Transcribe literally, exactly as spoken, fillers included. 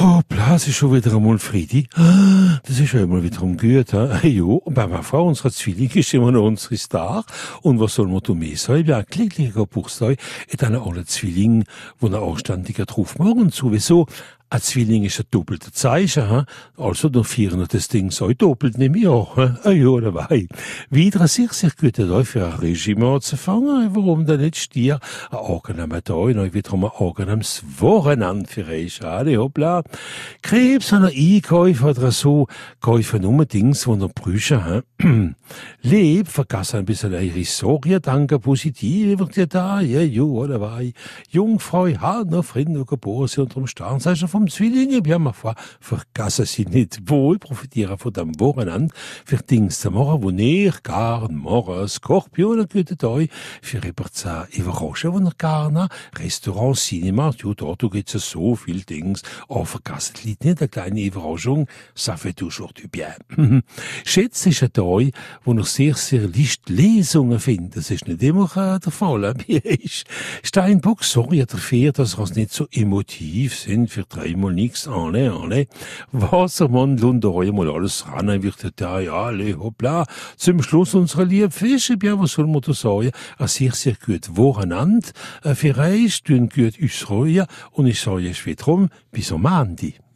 Hoppla, es ist schon wieder einmal Friedi. Ah, das ist ja immer wieder um gut, he? Jo, und bei meiner Frau, unserer Zwilling, ist immer noch unsere Star. Und was soll man da mehr sagen? Ja, ein glücklicher Geburtstag, et einer alle Zwilling, wo er anständiger drauf morgen sowieso. Ein Zwilling ist ein doppelter Zeichen, he? Also, dann vieren wir das Ding so doppelt, nehme ich auch, he? Ah, ja, dabei. Wieder ein sehr, sehr guter Tag für ein Regime anzufangen. Warum denn nicht Stier? Ein angenehmer Tag, und wieder ein angenehmes Wochenende für euch, alle, hoppla. Krebs an Einkäufe oder so, kaufen nur Dings, die noch prüfen, he? Leb, vergass ein bisschen eure Sorge, danke positiv, wird ihr da, ja, jo, dabei. Jungfrau, hat noch Frieden, noch geboren, sie unterm Stern, sei schon vom Zwillinge, ja, ma foi, vergassen sie nicht wohl, profitieren von dem Wochenende, für Dings zu machen, wo ihr gar morgen Skorpion, ein guter Tag, für Repertoire überraschen, wo ihr gar nach, Restaurant, Cinema, ja, dort gibt's ja so viel Dings, oh, vergassen nicht, nicht, eine kleine Überraschung, ça fait toujours du bien. Schätze ist ein Tag, wo noch sehr, sehr leicht Lesungen findet. Das ist nicht immer äh, der Fall. Mir ist Steinbock, sorry dafür, dass wir nicht so emotiv sind, für dreimal nichts, alle, alle. Wassermann, Lunderei, mal alles ran, wird da, ja, alle, hoppla. Zum Schluss unserer lieben Fische, ja, was soll man da sagen? Ein sehr, sehr gut Wochenende, äh, für euch, tun gut uns freuen, und ich sage jetzt wiederum, bis am Ende.